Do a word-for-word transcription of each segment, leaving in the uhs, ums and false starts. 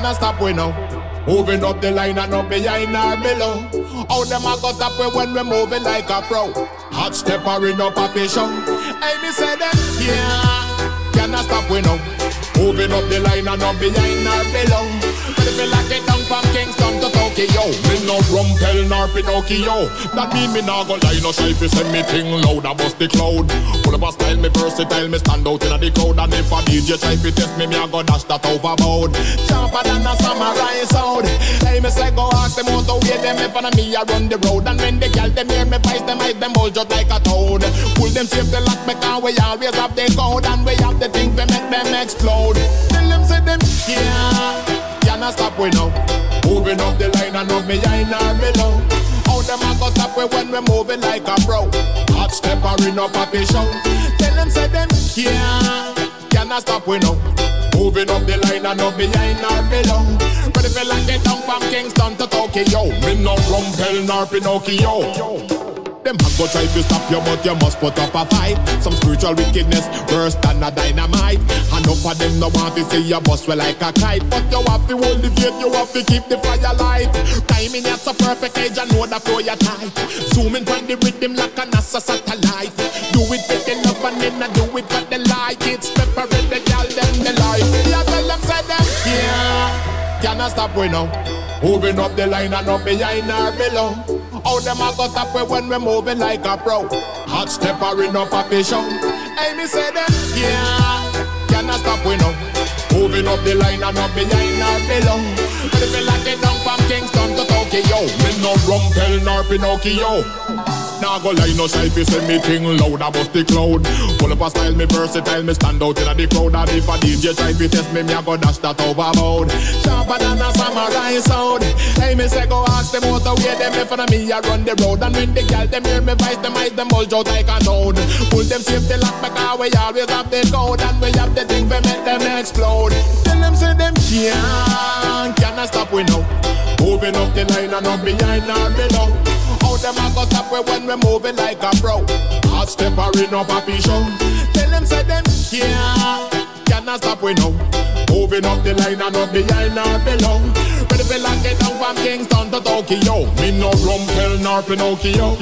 cannot stop we now. Moving up the line and up behind or below. How them a go stop we when we moving like a pro? Hot stepper in up a patient. Hey, me say them, yeah, cannot stop we now. Moving up the line and up behind or below. But if you lock it down from Kingston to Tokyo, me no Rumpel nor Pinocchio. That mean me nah go lie, no shy fi send me thing loud. I bust the cloud. Full of a style, me versatile, me stand out in the crowd. And if a D J try fi test me, me a go dash that overboard. Sharper than a samurai sound. Hey, me say go ask them how to weigh them if and me a run the road. And when the girl them hear me voice, them eyes them bulge out like a toad. Pull them safe the lock because we always have the code. And we have the thing to make them explode. Tell them say them yeah, cannot stop we now. Moving up the line and up behind or below. How them a go stop we when we moving like a pro? Hot stepper in up a show. Tell them say them yeah, cannot stop we now. Moving up the line and up behind or below. But if you like it down from Kingston to Tokyo, me no Rumpel nor Pinocchio. Them have go try to stop you, but you must put up a fight. Some spiritual wickedness worse than a dynamite. And enough of them no want to see your bust well like a kite. But you have to hold the faith, you have to keep the fire light. Timing at a perfect age, I know that flow you tight. Zooming from the rhythm like a NASA satellite. Do it with the love and then I do it for the light. It's pepper in the gal, then the light. Yeah, tell them, say them, yeah, cannot stop we now. Moving up the line and up behind or below. How them a go stop we when we moving like a pro? Hot stepper in up a patient. Hey, me say them, yeah, cannot stop we now. Moving up the line and up behind or below. But if you lock it down from Kingston to Tokyo, me no Rumpel nor Pinocchio. Nah go lie, no shy fi send me thing loud, I bust the cloud. Full up a style, me versatile, me stand out in the crowd. And if a D J try fi test me, me a go dash that overboard. Sharper than a samurai sound. Hey, me say go ask them how to weigh them if and me a run the road. And when the girl them hear me voice, them eyes them bulge out like a toad. Pull them safe the lock because we always have the code. And we have the thing to make them explode. Tell them say them can't, cannot stop we now. Moving up the line and up behind or below. How them a go stop we when we moving like a pro? Hot stepper in up a show. Tell them say them yeah, cannot stop we now. Moving up the line and up behind or below. Ready for lock it down from Kingston to Tokyo. Me no Rumpel nor Pinocchio.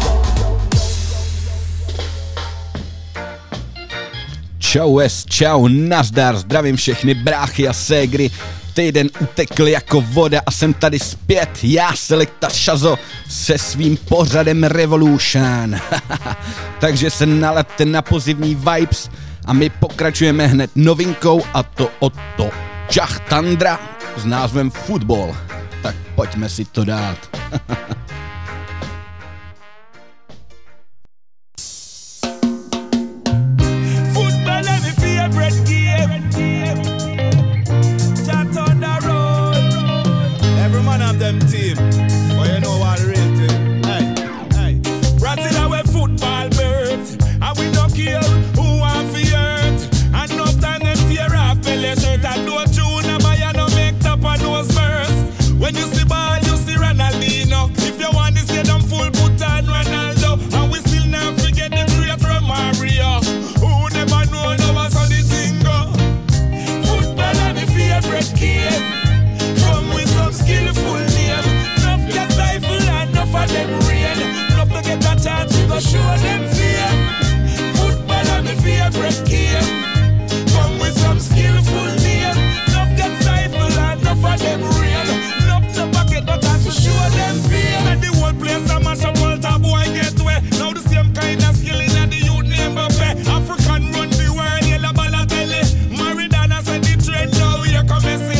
Čau es, čau, nazdar, zdravím všechny bráchy a ségry. Týden utekl jako voda a jsem tady zpět, já Selekta Šazo se svým pořadem Revolution. Takže se nalaďte na pozitivní vibes a my pokračujeme hned novinkou a to od to Jah Tundra s názvem Football. Tak pojďme si to dát. Them team, but you know what real thing. Hey, hey. Brazil our football birds, and we don't care who want for earth. And no time them tear off belly shirt and no tune, and buy no make top and no spurs. When you see ball, you see Ronaldinho. If you want to see them full put on Ronaldo, and we still never forget the great Romario. Who never know no what's on the thing go. Football is my favorite game. Come with some skillful name. Enough get stifle and enough of them rain. Enough to get a chance to go show them fear. Football is my favorite game. Come with some skillful name. Enough get stifle and enough of them rain. Enough to get a chance to show them fear. Let the whole place a mash up, Walter boy get away. Now the same kind of skill in the youth name Mbappe. African run the world, yellow Balotelli. Maradona said the trend now here come Messi.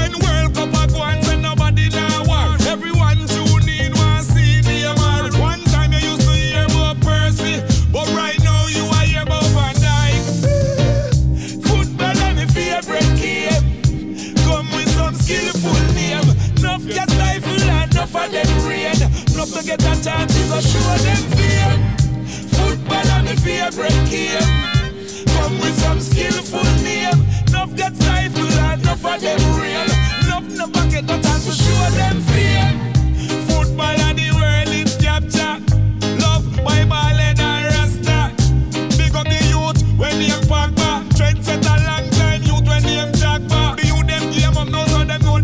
Everyone tune in, want see the man. One time you used to hear about Percy, but right now you are hear about Van Dijk. Football is my favorite game. Come with some skillful name. Enough get stifle and enough of them rain. Enough to get a chance to go show them fear. Football is my favorite game. Come with some skillful name. Enough get stifle and enough of them rain. Enough never get a chance to show them fear. Football and the world is capture. Love by ball and Rasta. Big up the youth when they park back. Trend set a long time youth when they jack back. The youth them game up now so them know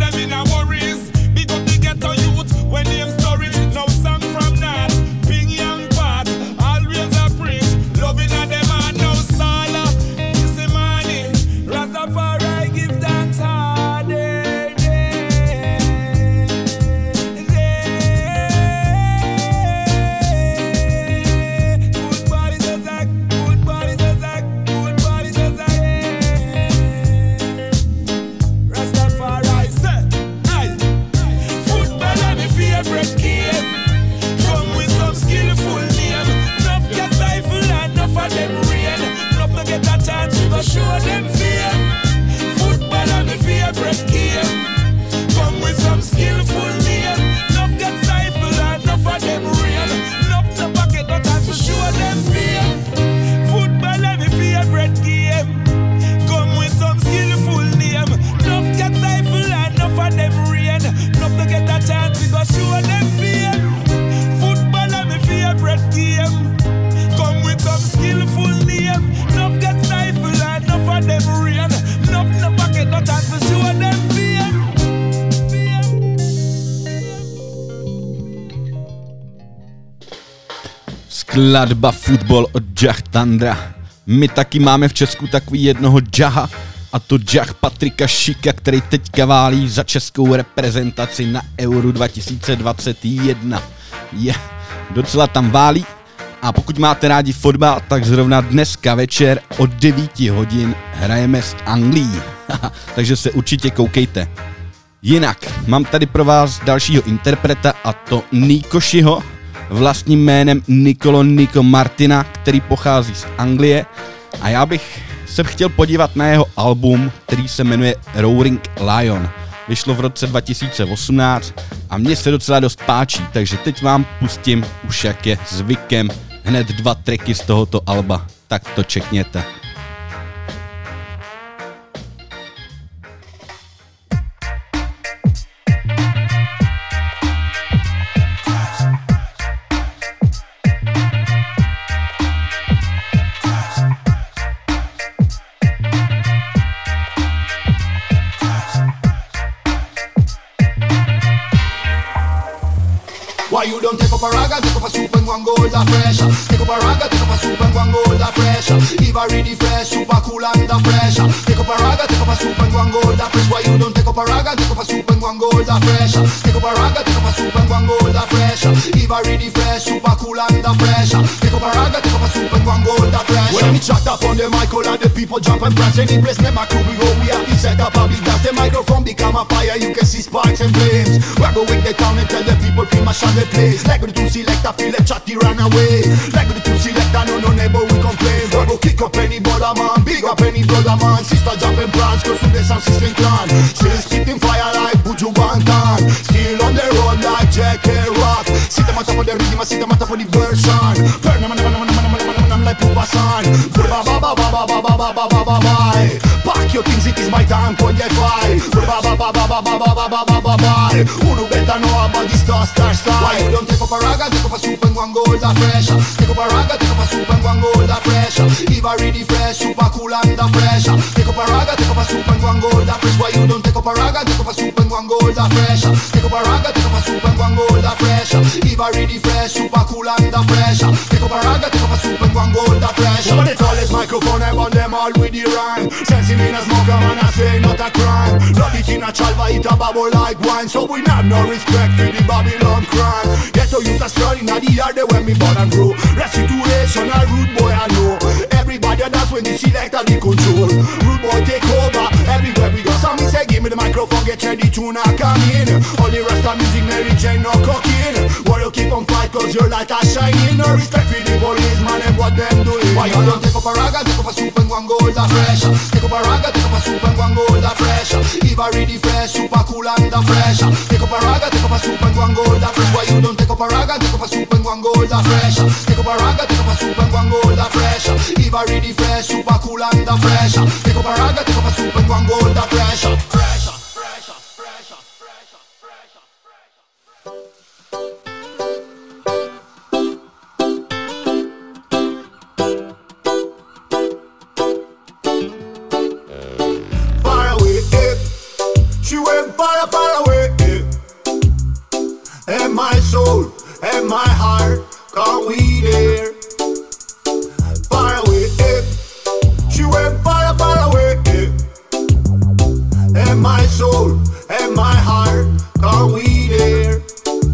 Skladba Football od Jah Thundera. My taky máme v Česku takový jednoho Jaha, a to Jah Patrika Šika, který teďka válí za českou reprezentaci na Euro dva tisíce dvacet jedna. Je, docela tam válí. A pokud máte rádi fotbal, tak zrovna dneska večer od devět hodin hrajeme s Anglií. Takže se určitě koukejte. Jinak, mám tady pro vás dalšího interpreta, a to Nikošiho, vlastním jménem Nicolo Nico Martina, který pochází z Anglie. A já bych se chtěl podívat na jeho album, který se jmenuje Roaring Lion. Vyšlo v roce dva tisíce osmnáct a mně se docela dost páčí, takže teď vám pustím, už jak je zvykem, hned dva tracky z tohoto alba. Tak to čekněte. Why you don't take up a rag and take up a soup and go and go the fresh? Take up a rag and take up a soup and go and go the fresh. If I really fresh, super cool and the fresh. Take up a rag and take up a soup and go and go the fresh. Why you don't take up a rag and take up a soup and go and go the fresh? Take up a rag and take up a soup and go and go the fresh. If I really fresh, super cool and the fresh. Take up a rag and take up a soup and go and go the fresh. When we chat up on the mic, all of the people jump and prance. Any place, never crew we go. We have to set up a big dance. The microphone become a fire. You can see sparks and flames. We're going the town and tell the people feel my shot. Place. Like the two selector, feel a chatty run away. Like the two selector, no no neighbor we complain. We go kick up any brother man, big up any brother man. Sister jumping plans, cause to the sound system clan. Still spitting fire like Buju Bantan. Still on the road like Jack and Rock. Sit them on top of the rhythm, sit them on top of the version. Burn them, I'm like Pupa San. Ba ba ba ba ba ba ba ba ba ba ba ba. Pack your things, it is my time, point the five. Ba ba ba ba ba ba ba ba ba ba ba ba. Who do better know about this star star star? Why you don't take up a rag and take up a soup and go and go the fresh? Take up a rag and take up a soup and go and go the fresh. If I really fresh, super cool and the fresh. Take up a rag and take up a soup and go and go the fresh. Why you don't take up a rag and take up a soup and go and go the fresh? Take up a rag and take up a soup and go and go the fresh. If I really fresh, super cool and the fresh. Take up a rag and take up a soup and go and go the fresh. Over the tallest microphone, I want them all with the rhyme. Sensing in a smoker, man, I say not a crime. Love it in a chalva, it a bubble like wine. So we have no respect for the Babylon crime. Get to use a story, now the yard when me born and grow. Rest situation, a rude boy I know. Everybody that's when the selector the control. Rude boy take over, everywhere we go. Some me say give me the microphone, get ready to knock come in. All the rest of music, Mary Jane, no cocaine. War you keep on fight cause your light are shining. No respect for the police, man, and what them doing. Why you don't take up a rag and take up a soup and go and go the fresh? Take up a rag and take up a soup and go and go the fresh. If I really fresh, super cool and the fresh. Take up a rag and take up a soup and go and go the fresh. Why you don't take up a rag and take up a soup and go and go the fresh? Take up a rag and take up a soup and go and go the fresh. If I really fresh, super cool and the fresh. Take up a rag and take up a soup and go and go the fresh. Fresh, fresh, fresh, fresh, fresh. She went far, far away, and my soul, and my heart, can't we there? Far away, she went far, far away, and my soul, and my heart, can't we there?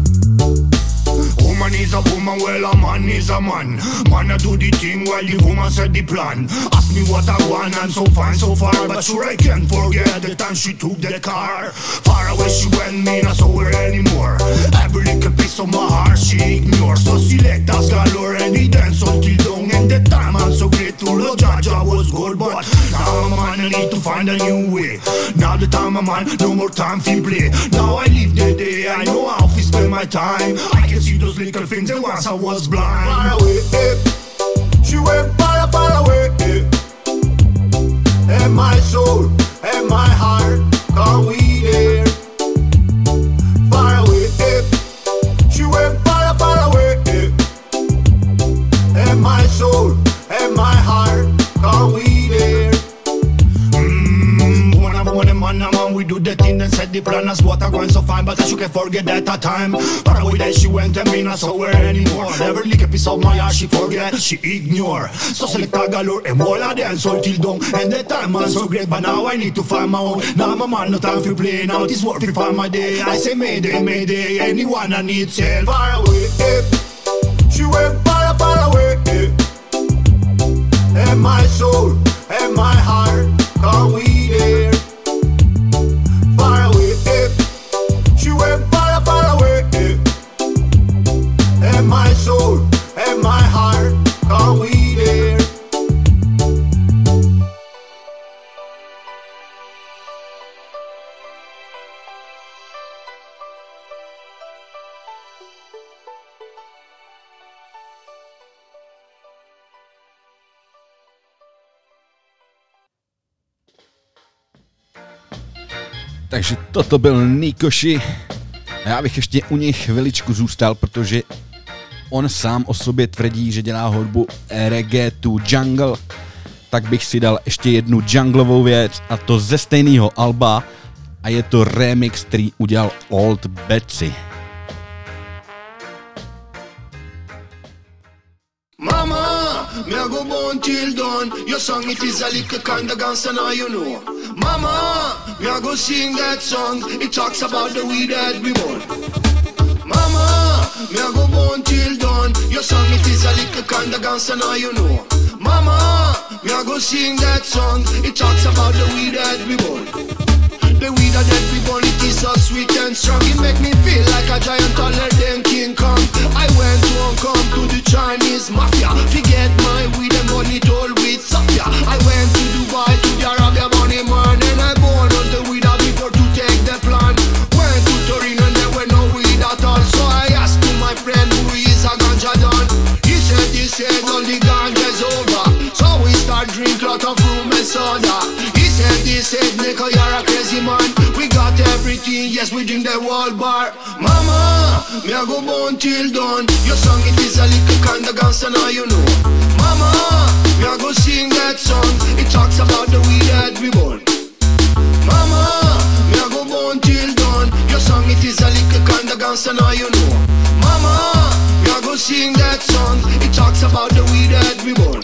Woman is a woman, well a man is a man. Man a do the thing while the woman set the plan. Ask me what I want, I'm so fine so far, but sure I can't forget the time she took the car. Far away she went, me not saw her anymore. Every little piece of my heart she ignores. So select us galore and he dance until dawn. And the time I'm so grateful, the judge I was good, but now I'm a man, I need to find a new way. Now the time I'm on, no more time for play. Now I live the day, I know how to spend my time. I can see those little things that once I was blind. Far away, eh. She went far, far away, eh. And my soul, and my heart, can't we there? Far away, eh. She went far, far away, eh. And my soul, and my heart, can't we there? Mmm, one of one man, man, we do the thing and set the plan as what I want so fine. but as you can forget that a time. Far away that she went and me not saw her anymore. Never lick a piece of my heart, she forget, she ignore. So select a galore and all of dance all till down. And that time was so great, but now I need to find my own. Now my man no time for play, now it is worth it for my day. I say mayday, mayday, anyone I need sail far away. Eh. She went far, far away. Eh. And my soul, and my heart, are we there? Far away, eh. She went far, far away, eh. And my soul, and my heart, are we there? Takže toto byl Nikoshi. A já bych ještě u něj chviličku zůstal, protože on sám o sobě tvrdí, že dělá hudbu reggae to jungle. Tak bych si dal ještě jednu junglovou věc, a to ze stejného alba, a je to remix, který udělal Old Betsy. Mama, me a go born till dawn. Your song it is a little kinda gangsta now you know. Mama, me a go sing that song. It talks about the weed that we born. Mama, me a go born till dawn. Your song it is a little kinda gangsta now you know. Mama, me a go sing that song. It talks about the weed that we born. The weed that we born, it is so sweet and strong. It make me feel like a giant taller than King Kong. I went to Hong Kong to the Chinese mafia. Forget my weed and money told with Safia. I went to Dubai to the Arabian money man. And I bought all the weed out before to take the plan. Went to Torino and there were no weed at all. So I asked to my friend who is a ganja don. He said, he said all the ganja's over. So we start drink lot of rum and soda. He said, he said, nigga, you're a crazy man. We got everything, yes, we drink the whole bar. Mama, me a go born till dawn. Your song, it is a little kinda gangsta now you know. Mama, me a go sing that song. It talks about the weed that we born. Mama, me a go born till dawn. Your song, it is a little kinda gangsta now you know. Mama, me a go sing that song. It talks about the weed that we born.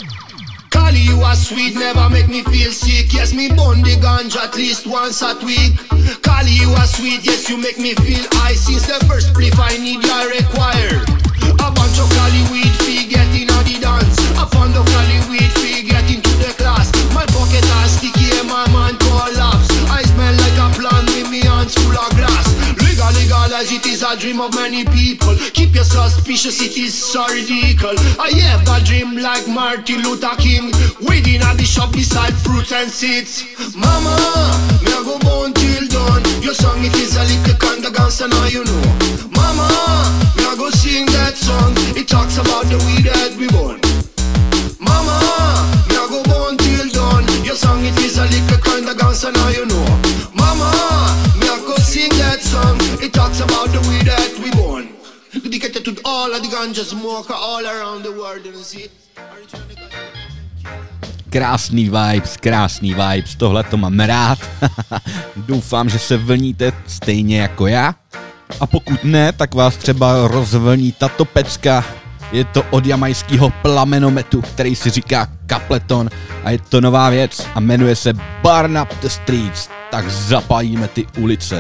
Cali, you are sweet, never make me feel sick. Yes, me burn the ganja at least once a week. Cali, you are sweet, yes, you make me feel high. Since the first spliff I need, I require a bunch of Cali weed, fee get in on the dance. A pound of Cali weed, fee get into the class. My pocket are sticky and my mind collapse. I smell like a plant with me hands full of grass. Legal, legal as it is a dream of many people. Keep your suspicious, it is so ridiculous. I have a dream like Martin Luther King, waiting at the shop beside fruits and seeds. Mama, me a go born till dawn. Your song it is a little kinda gangsta now you know. Mama, me a go sing that song. It talks about the weed that we born. Mama, me a go born till dawn. Your song it is a little kinda gangsta now you know. Mama, me a go sing that song. It talks about the weed that we born. Dedicated to all of the ganja smoker all around the world, you see. Krásný vibes, krásný vibes, tohle to mám rád. Doufám, že se vlníte stejně jako já. A pokud ne, tak vás třeba rozvlní tato pecka. Je to od jamajského Plamenometu, který si říká Capleton, a je to nová věc a jmenuje se Burn Up the Streets. Tak zapálíme ty ulice.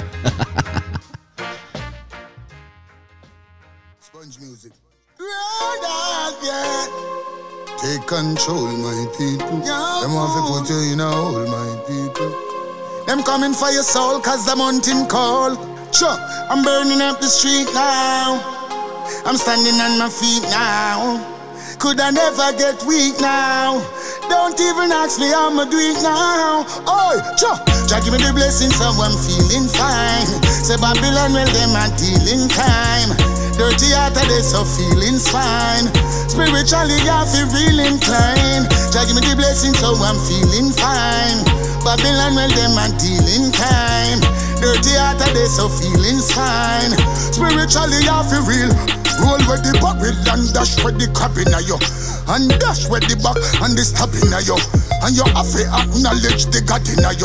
Take control, my people. Them want to put you in a hole, my people. Them coming for your soul, cause the mountain call. Sure, I'm burning up the street now. I'm standing on my feet now. Could I never get weak now? Don't even ask me how I'ma do it now. Oh, sure, Jah give me the blessing, so I'm feeling fine. Say Babylon, well, them are dealing time. Dirty heart of this, so feeling's fine. Spiritually, I feel real inclined. Jah give me the blessing, so I'm feeling fine. Babylon, well, them are dealing time. Dirty heart of this, so feeling's fine. Spiritually, I feel real. Roll with the barrel and dash with the crab in you. And dash with the back and the stab in you. And you have to acknowledge the God in you.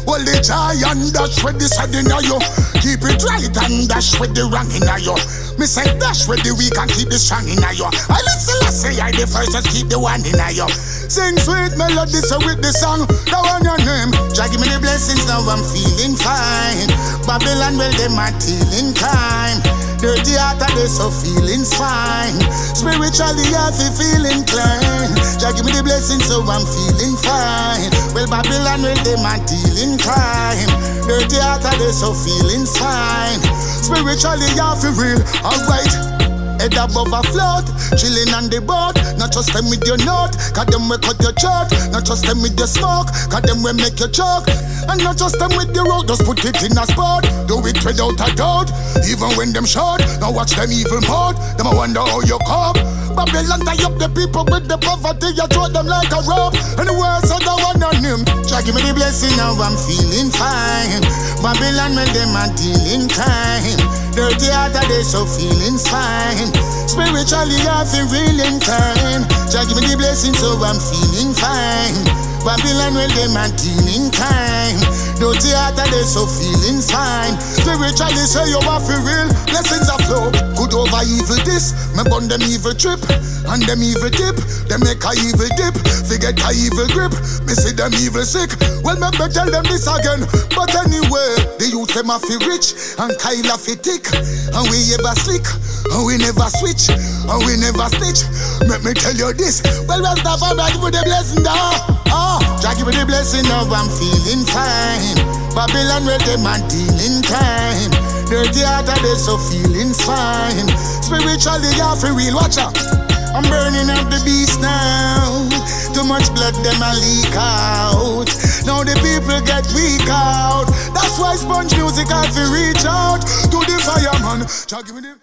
Hold the joy and dash with the sad in you. Keep it right and dash with the wrong in you. Me say dash with the weak and keep the strong in you. I listen, I say I the first, just keep the one in you. Sing sweet melody so with the song, that one your name. Jah give me the blessings, now I'm feeling fine. Babylon, well, them are tilling time. Dirty heart and they so feeling's fine. Spiritually I feel feeling clean. Jah give me the blessings so I'm feeling fine. Well, Babylon, well, them are dealing crime. Dirty heart and they so feeling's fine. Spiritually I feel real, alright. Head above a float, chilling on the boat. Not just them with your note, cause them will cut your chart. Not just them with your smoke, cause them will make you choke. And not just them with the road, just put it in a spot. Do it without a doubt, even when them short. Now watch them evil mode, them I wonder how you cope. Babylon tie up the people with the poverty, you throw them like a rope. And the words of the one on him. Jah give me the blessing, now I'm feeling fine. Babylon when them are dealing crime. Dirty heart are they so feeling fine. Spiritually I feel real inclined. Jah give me the blessing so I'm feeling fine. Babylon when them are dealing crime. Dirty heart are they so feeling fine. Spiritually say you are feel real. Blessings are flow. Good over evil this. Me burn them evil trip. And them evil tip. They make a evil dip. Forget a evil grip. Me see them evil sick. Well me better tell them this again. But anyway, the youth them a feel rich. And Kyle a feel thick. And we ever slick. And we never switch. And we never snitch. Let me tell you this. Well Rastafari give me the blessing now. Ah, Jah give me the blessing now I'm feeling fine. Babylon where them a dealing time. Dirty heart are they so feeling fine. Spiritually I feel real, watch out. I'm burning up the beast now. Too much blood them a leak out. Now the people get weak out. That's why Sponge Music have to reach out to the fireman. Jah give me the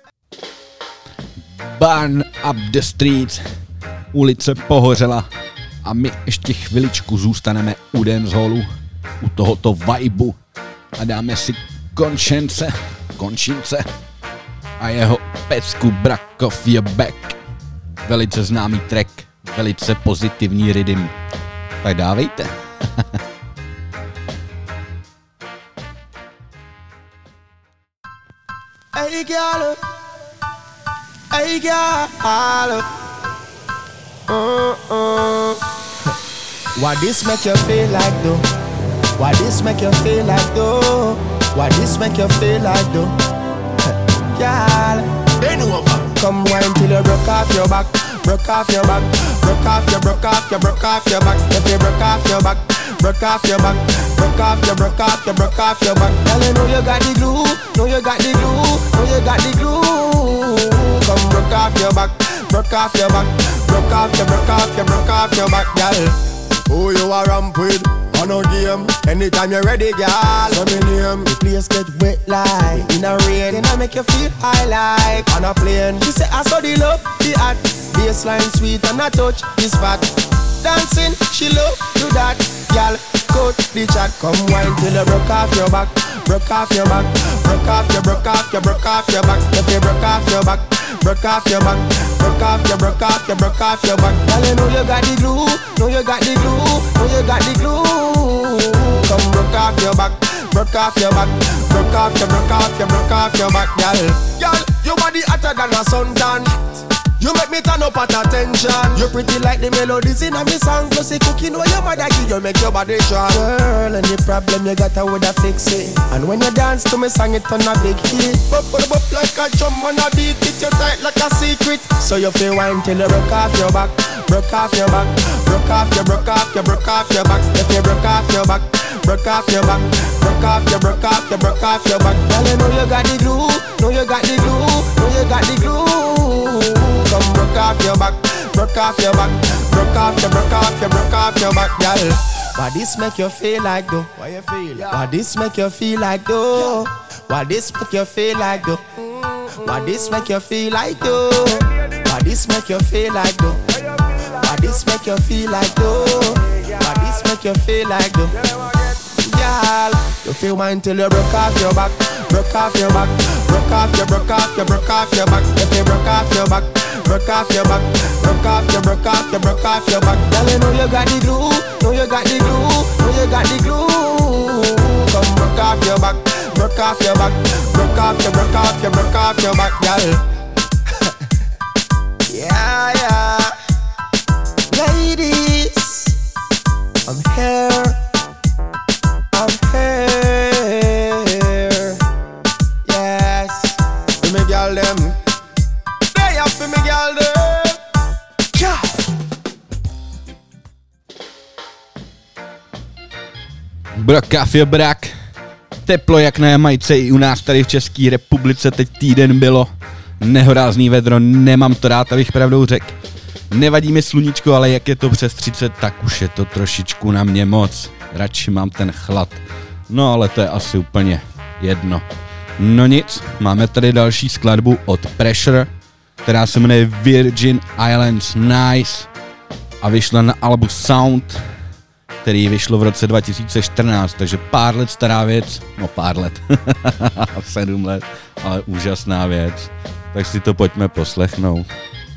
Burn up the streets. Ulice pohořela a my ještě chviličku zůstaneme u dancehallu, u tohoto vibu a dáme si Konšence, Konšince a jeho pecku Brakov je back. Velice známý track, velice pozitivní rhythm. Tak dávejte. Hey girl, hey girl, uh-uh. What this make you feel like though? What this make you feel like though? What this make you feel like though? Girl, bend over. Come wine till you broke off your back, broke off your back, broke off your, broke off your, broke off your back. If you broke off your back, broke off your back, broke off your, broke off your, broke off your back. Girl, you know you got the glue, know you got the glue, know you got the glue. Come broke off your back, broke off your back, broke off your, broke off your, broke off your back, girl. Who you are ramp with? On a game, anytime you're ready, girl. So me name, the place get wet like in a rain. Then I make you feel high like on a plane. She say I saw the love, the art, baseline sweet and I touch the spot. Dancing, she love do that, girl. Cut the chat, come wine till you broke off your back, broke off your back, broke off your, broke off your, broke off your back. If you broke off your back, broke off your back, broke off your, broke off your, broke off your back. Girl, you know you got the glue, know you got the glue, know you got the glue. Come broke off your back, broke off your back, broke off your, broke off your, broke off your back, girl. Girl, your body hotter than a suntan. You make me turn up at attention. You pretty like the melodies in a me song. Plus the cooking where your mother give you make your body strong. Girl, any problem you got I woulda fix it. And when you dance to me song it on a big hit. Bop bop bop like a drum on a beat. It you tight like a secret. So you feel wine till you broke off your back, broke off your back, broke off your, broke off your, broke off your back. If you broke off your back, broke off your back, broke off your, broke off your, broke off your back. Girl, you know you got the glue, know you got the glue, know you got the glue. Come broke off your back, broke off your back, broke off your, broke off your, broke off your back, girl. Why this make you feel like though? Why you feel? Yeah. Why this make you feel like though? Yeah. Why this make you feel like though? Why this make you feel like though? Why this make you feel like though? Why this make you feel like though? Why this make you feel like though? Girl, you feel mine till you broke off your back, broke off your back, broke off your, broke off your, broke off your back. If you broke off your back, broke off your back, broke off your, broke off your, broke off your back. Girl, you know you got the glue, know you got the glue, know you got the glue. just broke off your back, broke off your back, broke off your, broke off your, broke off your back, girl. Yeah, yeah. Ladies, I'm here, I'm here. Yes, for me girl them, they up for me girl them. Yeah. Brokafio brak. Teplo jak na Jamajce i u nás tady v České republice teď týden bylo. Nehorázný vedro, nemám to rád, abych pravdou řekl. Nevadí mi sluníčko, ale jak je to přes třicet, tak už je to trošičku na mě moc. Radši mám ten chlad. No ale to je asi úplně jedno. No nic, máme tady další skladbu od Pressure, která se jmenuje Virgin Islands Nice a vyšla na albu Sound, který vyšlo v roce dva tisíce čtrnáct, takže pár let stará věc, no pár let, sedm let, ale úžasná věc. Tak si to pojďme poslechnout.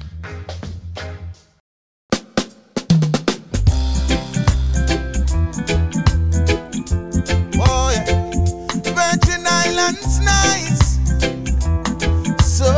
Oh yeah, Virgin Islands nice, so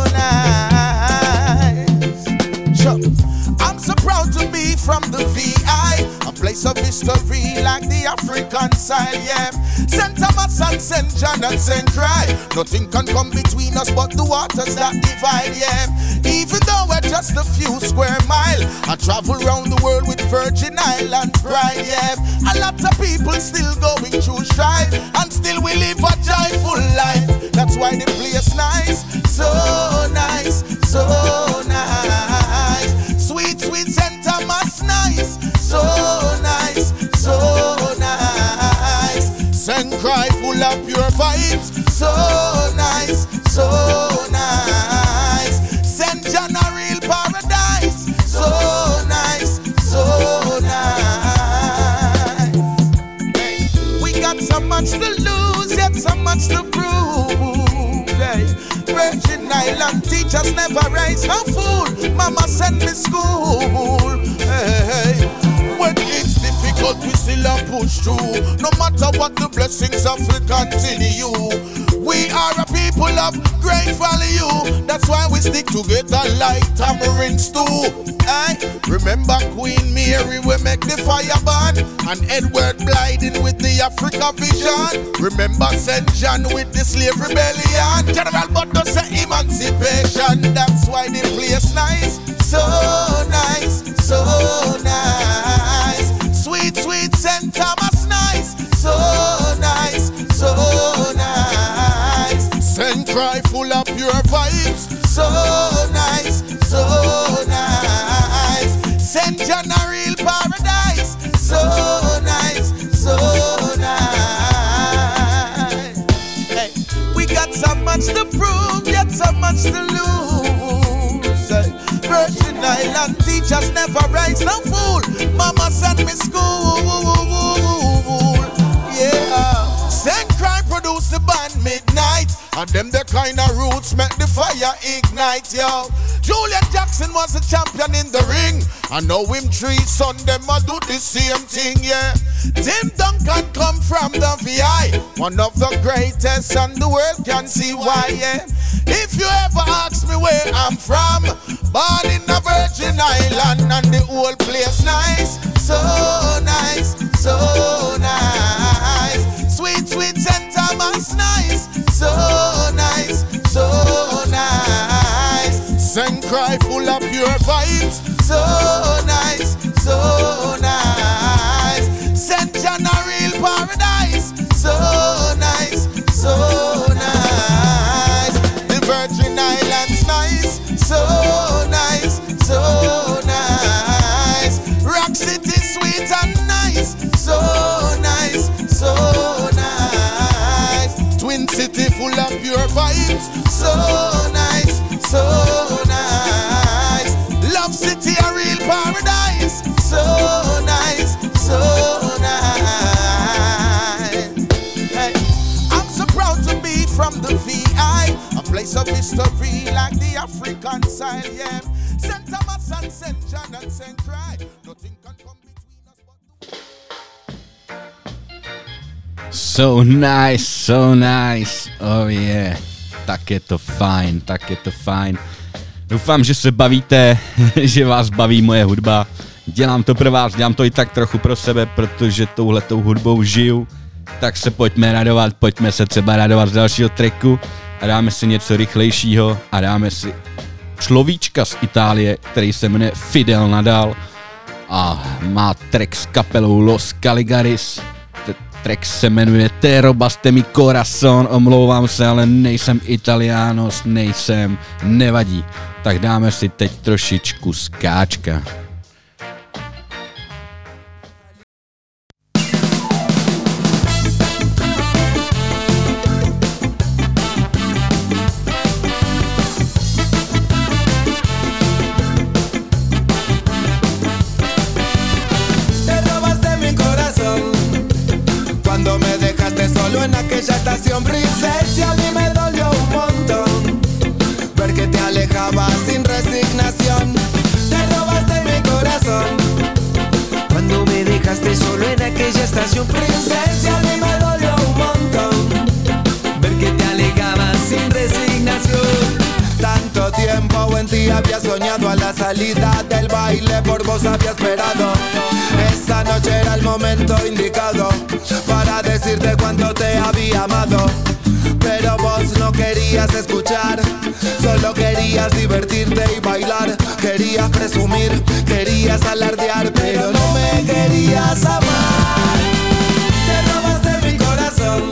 nice. Sure. I'm so proud to be from the V I, a place of history like the African side, yeah. Saint Thomas and Saint John and Saint Dry, nothing can come between us but the waters that divide, yeah. Even though we're just a few square mile, I travel round the world with Virgin Islands pride, yeah. A lot of people still going through strife, and still we live a joyful life. That's why the place nice, so nice, so nice. Sweet, sweet Saint Thomas nice, so nice, so nice. Saint Cry full of pure vibes, so nice, so nice. Saint John a real paradise, so nice, so nice. Hey, we got so much to lose, yet so much to prove. Hey, Virgin Island teachers never raise no fool. Mama sent me school. Hey, hey. When it's difficult, we still a push through. No matter what the blessings of we continue. We are a people of great value. That's why we stick together like tamarind stew. I remember Queen Mary, we make the fire burn, and Edward Blyden with the Africa vision. Remember Saint John with the slave rebellion. General Butler say emancipation. That's why the place nice, so nice, so nice. Sweet, sweet Saint Thomas nice, so nice, so nice. Saint Cry full of pure vibes, so nice, so nice. Saint John a real paradise, so nice, so nice. Hey, we got so much to prove, yet so much to lose. Hey, Virgin Island teachers never raise no fool. Mama sent me school, yeah. Saint Cry produce the band Midnight, and them the kind of roots make the fire ignite, yo. Julian Jackson was a champion in the ring, and now him three son them a do the same thing, yeah. Tim Duncan come from the V I, one of the greatest, and the world can see why, yeah. If you ever ask me where I'm from, born in the Virgin Island, and the whole place nice, so nice, so nice. Sweet, sweet Saint Thomas nice, so nice, so nice. Saint Cry full of pure vibes, so nice, so nice. Saint John a real paradise, so nice, so nice. The Virgin Islands nice, so nice, so nice. Rock City sweet and nice, so nice, so nice. Twin City full of pure vibes, so nice, so nice. Love City a real paradise, so nice, so nice. Hey, I'm so proud to be from the V I, a place of history like the African side, yeah. Saint Thomas and Saint John and Saint Cry, nothing can come between us but the... So nice, so nice, oh yeah. Tak je to fajn, tak je to fajn. Doufám, že se bavíte, že vás baví moje hudba. Dělám to pro vás, dělám to i tak trochu pro sebe, protože touhletou hudbou žiju. Tak se pojďme radovat, pojďme se třeba radovat z dalšího tracku a dáme si něco rychlejšího a dáme si človíčka z Itálie, který se jmenuje Fidel Nadal a má track s kapelou Los Caligaris. Ten track se jmenuje Te robaste mi corazon, omlouvám se, ale nejsem Italianos, nejsem, nevadí. Tak dáme si teď trošičku skáčka. En aquella estación princesa a mí me dolió un montón ver que te alejabas sin resignación. Te robaste mi corazón cuando me dejaste solo en aquella estación princesa a mí me dolió un montón ver que te alejabas sin resignación. Tanto tiempo en ti había soñado, a la salida del baile por vos había esperado. Esa noche era el momento indicado para decirte cuánto te había amado. Pero vos no querías escuchar, solo querías divertirte y bailar. Querías presumir, querías alardear, pero no me querías amar. Te robaste mi corazón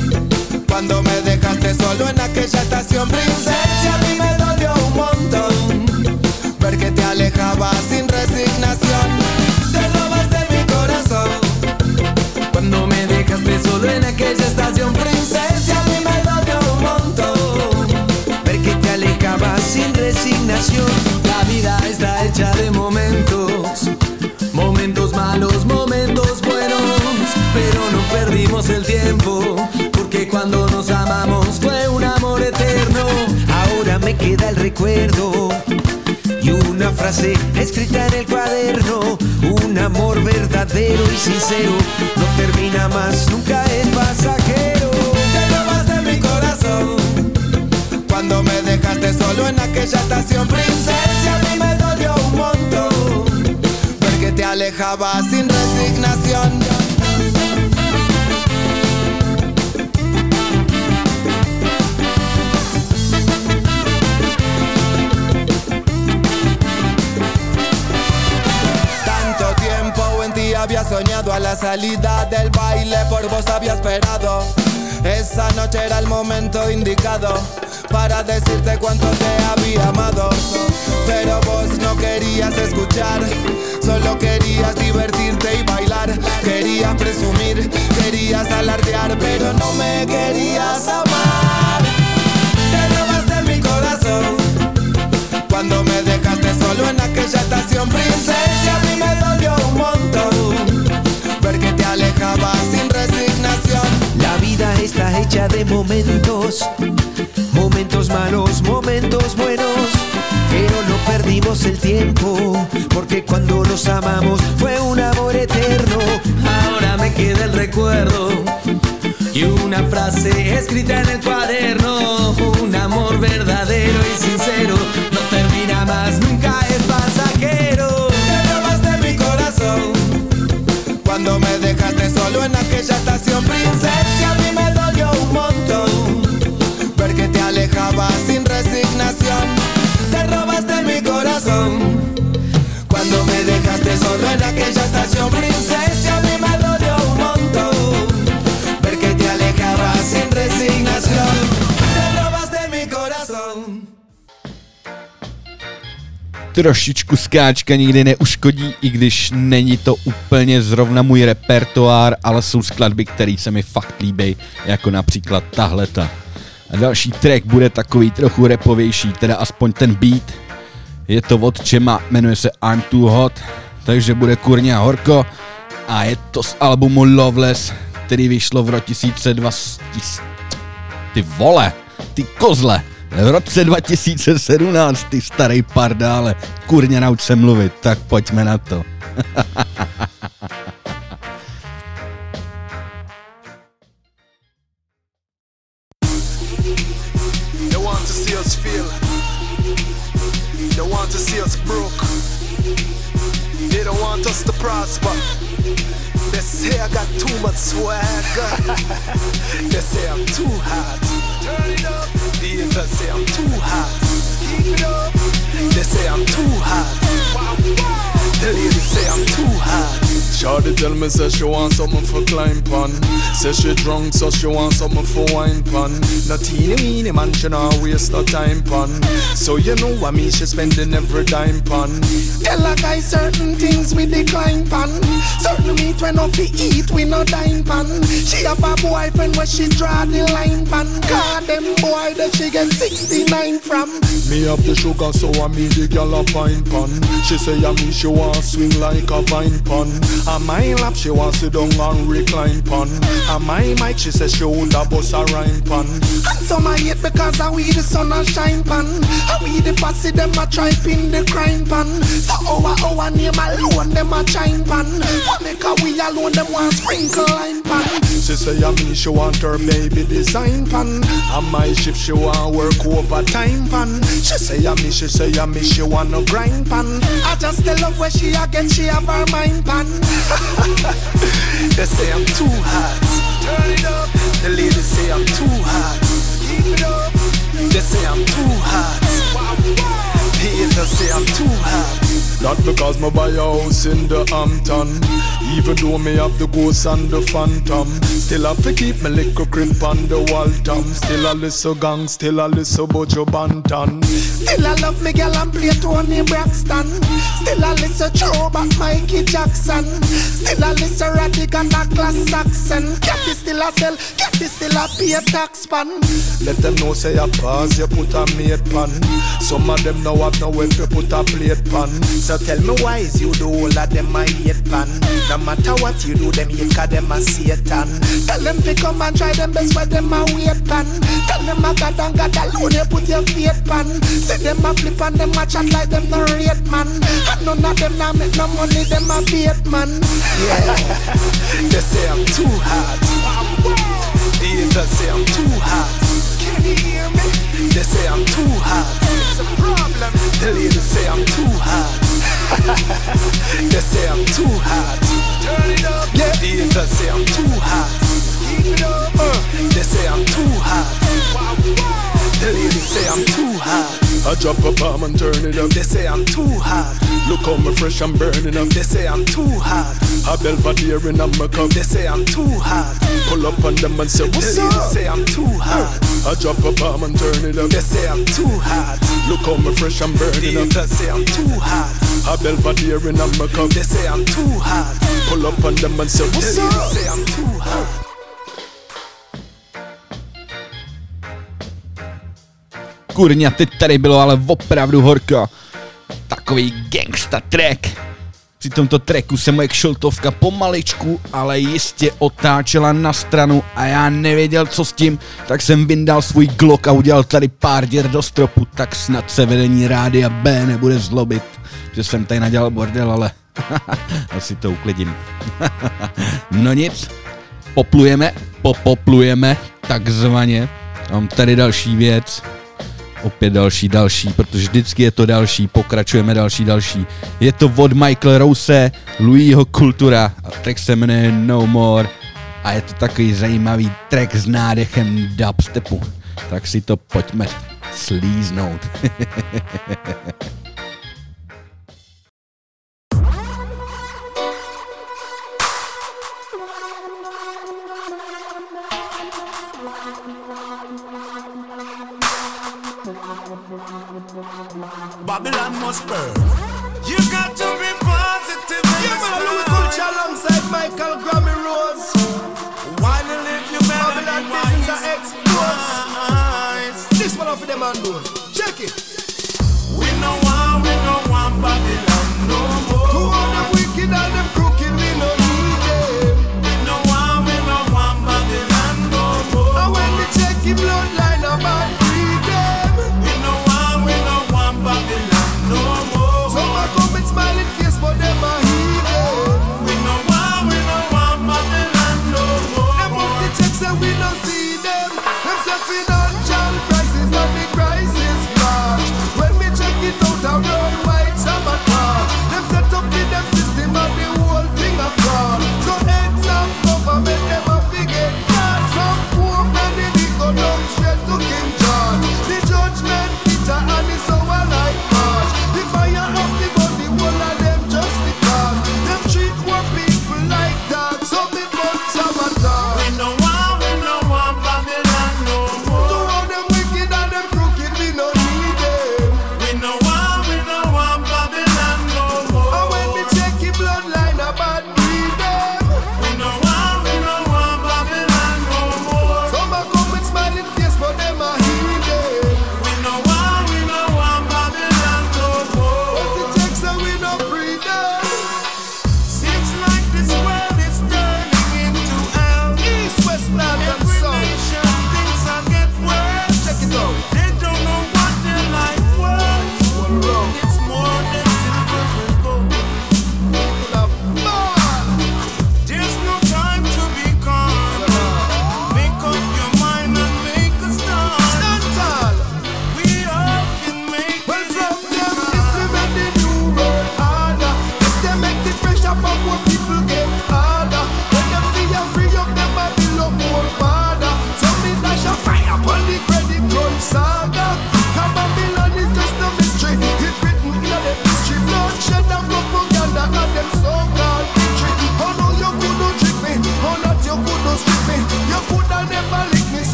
cuando me dejaste solo en aquella estación princesa. A mí me dolió un montón ver que te alejabas sin resignación. Te robaste mi corazón cuando me dejaste solo en aquella estación princesa. A mí me dolió un montón ver que te alejabas sin resignación. La vida está hecha de momentos, momentos malos, momentos buenos, pero no perdimos el tiempo, porque cuando nos amamos fue un amor eterno. Ahora me queda el recuerdo y una frase escrita en el cuaderno. Un amor verdadero y sincero no termina más, nunca es pasajero. Te robaste mi corazón cuando me dejaste solo en aquella estación princesa. A mí me dolió un montón ver que te alejabas sin resignación. Había soñado, a la salida del baile por vos había esperado. Esa noche era el momento indicado para decirte cuánto te había amado. Pero vos no querías escuchar, solo querías divertirte y bailar. Querías presumir, querías alardear, pero no me querías amar. Te robaste mi corazón cuando me dejaste solo en aquella estación princesa. A mí me dolió un montón ver que te alejabas sin resignación. La vida está hecha de momentos, momentos malos, momentos buenos, pero no perdimos el tiempo, porque cuando nos amamos fue un amor eterno. Ahora me queda el recuerdo y una frase escrita en el cuaderno. Un amor verdadero y sincero no termina más, nunca es pasajero. Te robaste mi corazón cuando me dejaste solo en aquella estación princesa. A mí me dolió un montón ver que te alejabas sin resignación. Te robaste mi corazón cuando me dejaste solo en aquella estación princesa. A mí me dolió un montón ver que te alejabas sin resignación. Te robaste mi corazón. Trošičku skáčka nikdy neuškodí, i když není to úplně zrovna můj repertoár, ale jsou skladby, které se mi fakt líbí, jako například tahleta. A další track bude takový trochu rapovější, teda aspoň ten beat. Je to od Čema, jmenuje se I'm Too Hot, takže bude kurně horko a je to z albumu Loveless, který vyšlo v roce dva tisíce dvacet. Ty vole, ty kozle, v roce dva tisíce sedmnáct, ty starý pardále, kurně nauč se mluvit, tak pojďme na to. prosper. They say I got too much swagger. They say I'm too hot. Turn it up. The haters say I'm too hot. Keep it up. They say I'm too hot. The ladies say I'm too hot. Shawty tell me say she want something for climb pan. Say she drunk so she want something for wine pan. No teeny weeny man she not waste no time pan. So you know what me she spending every dime pan. Tell a guy certain things we decline pan. Certain meat when off we eat we no dine pan. She have a boyfriend where she draw the line pan. God them boy that she get sixty-nine from. Me have the sugar so I me the girl a fine pan. She say I me she want swing like a vine pan. On my lap she want sit down and recline pan. On my mic she says she would a bust a rhyme pan. And some I hate because I we the sun a shine pan. I we the fussy them a try pin the crime pan. So our our name alone them a chime pan. What make a we alone them want sprinkle line pan. She say I me she want her baby design pan. On my shift she want work overtime pan. She say I me she say I me she want no grind pan. I just tell her where she again she have her mind pan. They say I'm too hot. Turn it up. The ladies say I'm too hot. Keep it up. They say I'm too hot. The haters say I'm too hot. Not because me buy a house in the Hampton. Even though me have the ghost and the phantom. Still have to keep me little crib on the Waltham. Still a listen gang, still a listen Bojo Banton. Still I love me girl and play Tony Braxton. Still I listen Throwback Mikey Jackson. Still I listen Radical and Douglas Saxon. Catty still a sell, Catty still a pay tax pan. Let them know say a pause, you put a mate pan. Some of them now have no way to put a plate pan. So tell me why is you do all of them a hate pan. No matter what you do, them hate cause them a Satan. Tell them to come and try them best where them a wait pan. Tell them a God and God alone you put your faith pan. See them a flip and them a chat like them no rate man. And none of them now make no money, them a bait man. Yeah. They say I'm too hot. The haters say I'm too hot. Can you hear me? They say I'm too hot. It's a problem. The ladies say I'm too hot. They say I'm too hot. Turn it up. Yeah. The haters say I'm too hot. Keep it up. Uh. They say I'm too hot. The ladies say I'm too hot. I drop a bomb and turn it up. They say I'm too hot. Look how me fresh and burning up. They say I'm too hot. A Belvedere in a my cup. They say I'm too hot. Pull up on them and say what's the up? They say I'm too hot. I drop a bomb and turn it up. They say I'm too hot. Look how me fresh and burning up. They say I'm too hot. A Belvedere in a my cup. They say I'm too hot. Pull up on them and say what's they up? They say I'm too hot. Kurňa, teď tady bylo ale opravdu horko. Takový gangsta track. Při tomto tracku se moje kšiltovka pomaličku, ale jistě otáčela na stranu a já nevěděl, co s tím, tak jsem vyndal svůj Glock a udělal tady pár děr do stropu, tak snad se vedení Rádia B nebude zlobit, že jsem tady nadělal bordel, ale asi to uklidím. No nic, poplujeme, popoplujeme, takzvaně. Mám tady další věc. Opět další, další, protože vždycky je to další, pokračujeme další, další. Je to od Michael Rose, Louisho Kultura a track se jmenuje No More a je to takový zajímavý track s nádechem dubstepu. Tak si to pojďme slíznout. Babylon must burn. You got to be positive. Yeah, man, Louis Culture alongside Michael Grammy Rose. Why you live your Babylon business are exposed. This one off of them and those. Check it. We no want, we no want Babylon no more. To all them wicked and them crooked, we no need them. We no want, we no want Babylon no more. And when we check the bloodline of our freedom, we no want, we no want Babylon no more. Some are come with smiling face, but them are heathen. We no want, we no want Babylon no more. Them must the checks and we no see them. Them say financial crisis and the crisis.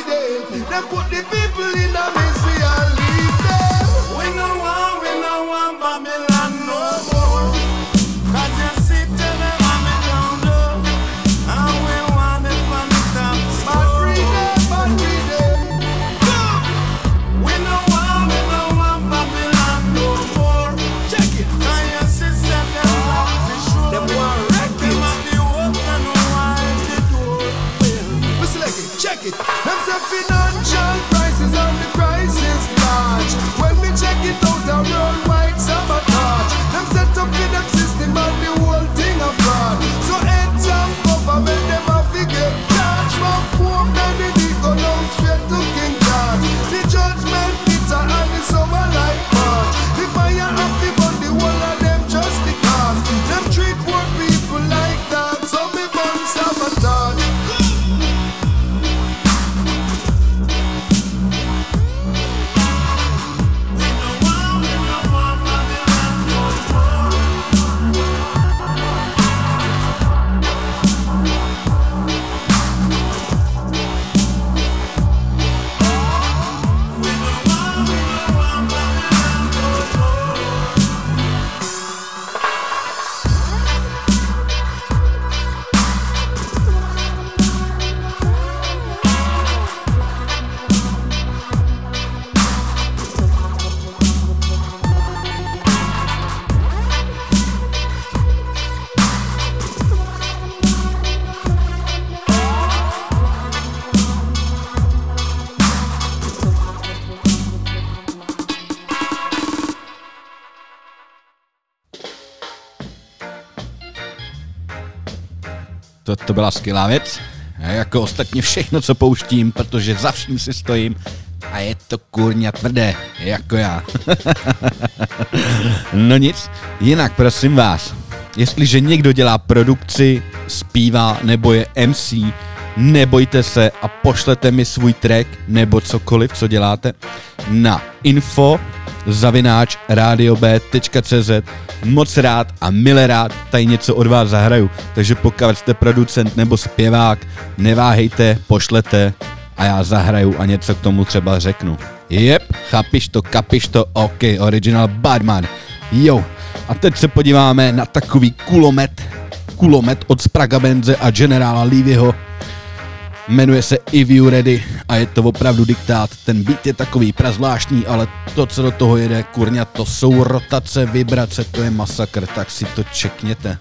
day. They put the people in a misery and leave them. We no want, we no want Babylon no more. Cause you sit in the mommy down low. And we want it from the top. But free them, but free them. We no want, we no want Babylon no more. Check it. Cause you sit in the mommy down low. Them want wreck Them it. have the hope and no one the door. We select it, check it. Them say financial crisis and the crisis large. When we check it out, a worldwide sabotage. Them set up in them system and the whole thing a fraud. So heads of government, them a figure charge. From poor men, they go down straight to King George. The judgment bitter and the summer like March. The fire of the burn, the whole of them just because. Them treat poor people like that, so me burn sabotage. To, to byla skvělá věc. A jako ostatně všechno, co pouštím, protože za vším si stojím a je to kurňa tvrdé, jako já. No nic, jinak prosím vás, jestliže někdo dělá produkci, zpívá nebo je em cé, nebojte se a pošlete mi svůj track nebo cokoliv, co děláte, na info zavináč radiob tečka cz. Moc rád a mile rád tady něco od vás zahraju, takže pokud jste producent nebo zpěvák, neváhejte, pošlete a já zahraju a něco k tomu třeba řeknu. Jep, chápiš to, kapiš to, ok, original Badman. Jo, a teď se podíváme na takový kulomet, kulomet od Spraga Benze a generála Levyho. Jmenuje se If You Ready a je to opravdu diktát. Ten beat je takový prazvláštní, ale to, co do toho jede, kurňa, to jsou rotace, vibrace, to je masakr, tak si to čekněte.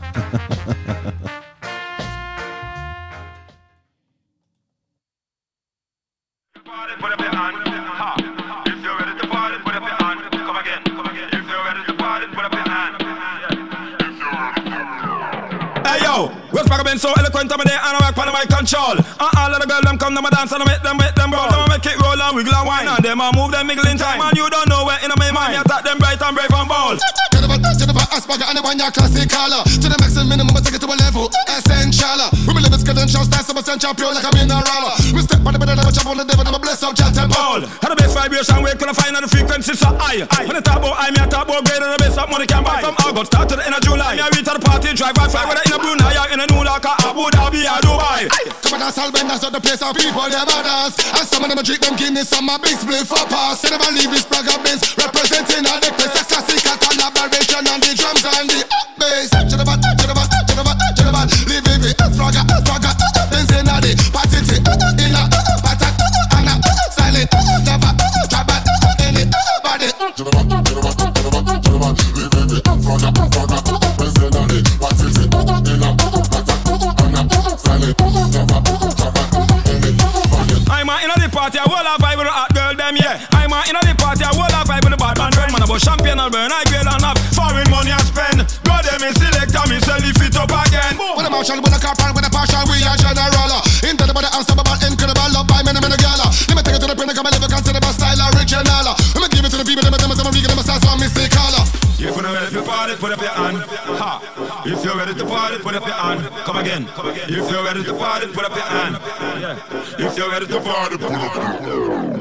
Hey yo, West Park been so eloquent on my day and I rock on my control. And all of the girls them come to my dance and I make them make them roll. Them make it roll and wiggle and wine and them a move them wiggle in time. And you don't know where in my mind. You attack them bright and brave and bold. Jennifer Asperger and the one your classic color. To the maximum minimum, I take it to a level essential. We believe it's credentials, that's some essential pure like a mineral. We step on the bed and I jump on the devil and I bless up Jan Temple. And the bass vibration we can find on the frequency so high. When the top boy, I me a top boy greater than the bass up money can buy. From August start to the end of July. Me a reach to the party, drive by fly. Whether in a Brunei or in a New York or Abu Dhabi or Dubai. Come on, that's all benders out the place of people, they're badass. And some of them a drink them Guinness, some a big split for pass. They never leave this Spraga Benz representing all the place. A classical collaboration on the drums and the bass. Jennifer, Jennifer, Jennifer, Jennifer, live it, Spraga, Spraga, Benz in a the party, in a patat, and a silent, never, drop it, in it, body. Jennifer, Jennifer, Jennifer, Jennifer, live it, Spraga, Spraga, Benz in a the party, in a patat, and a silent, never, drop it, in it, body. I'm a in the party, I will have vibe with the hot girl them, yeah. I'm a in the party, I will have vibe with the bad man friend. Man about champion, I'll burn, I grade and have foreign money I spend. Go them in select, and me sell the fit up again. With a marshal, with a corporal, with a partial, we are general. Into the body, unstoppable, incredible, love by many, many gala. Let me take it to the print, come and live a considerable style, original. Let me give it to the people, them, them, them, them, them, style, so mistake color. If you're ready to party, put up your hand. Ha. If you're ready to party, put up your hand. Come again. If you're ready to party, put up your hand. If you're ready to party, put up your hand.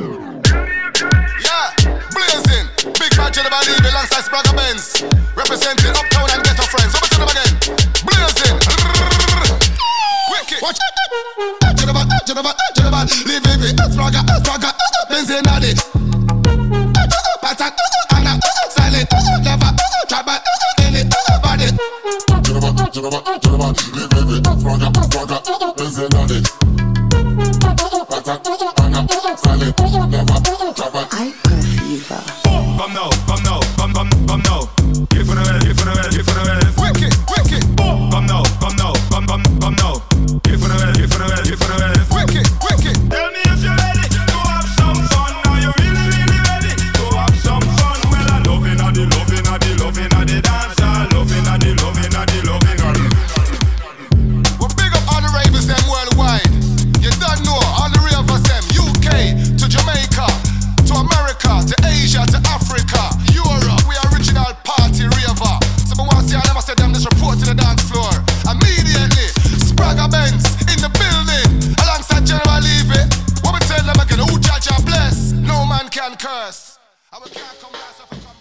Yeah, blazing. Big man to the body, alongside Spraga Benz. Representing Uptown and Ghetto Friends. Over to them again. Blazing. Wicked. Watch. Jennifer, Jennifer, Jennifer, live it, Spraga, Swagger, Benz in a it. Patak, Anna, silent, never, trouble, in it, body. Jabba, jabba, jabba, live with it. Swagger, swagger, Benz in a it. Patak, Anna, silent, never, trouble. Hyper fever. Come now, come now, come, come, come now. Give for the well, give for the well, give for the well. Wicked, wicked. Come now, come now, come, come, come now. Give for the well, give for the well, give for the well. Wicked, wicked. Tell me if you're ready to have some fun. Are you really, really ready to have some fun? Well, I'm loving, I'm the loving, I'm the loving, I'm the dance. I'm loving, I'm the loving, I'm the loving, I'm the Well, big up all the ravers them worldwide. You don't know all the ravers them. U K to Jamaica, to America, to Asia, to Africa, Europe. We original party raver. So I want to see I never said them this report to the dance floor. Immediately, Spragga Benz in the building, alongside General Levy. What we tell them again? Who judge and bless? No man can curse. And we can't come last if we come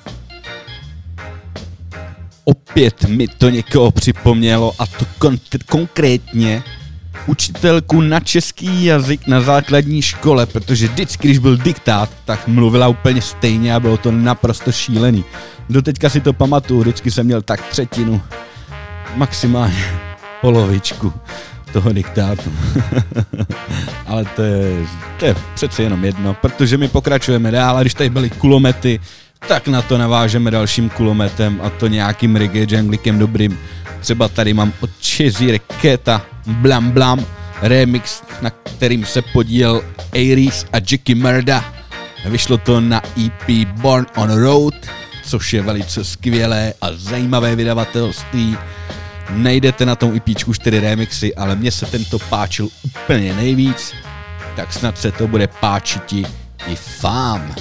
first. Opět mi to někoho připomnělo, a to kon- konkrétně učitelku na český jazyk na základní škole, protože vždycky, když byl diktát, tak mluvila úplně stejně a bylo to naprosto šílený. Doteďka si to pamatuju, vždycky jsem měl tak třetinu, maximálně polovičku toho diktátu. Ale to je, to je přece jenom jedno, protože my pokračujeme dál a když tady byly kulomety, tak na to navážeme dalším kulometem, a to nějakým reggae junglikem dobrým. Třeba tady mám od Chezzy Reketa Blam Blam remix, na kterým se podílel Aries a Jackie Murda. Vyšlo to na E P Born on Road, což je velice skvělé a zajímavé vydavatelství. Najdete na tom EPčku čtyři remixy, ale mně se tento páčil úplně nejvíc, tak snad se to bude páčiti i vám.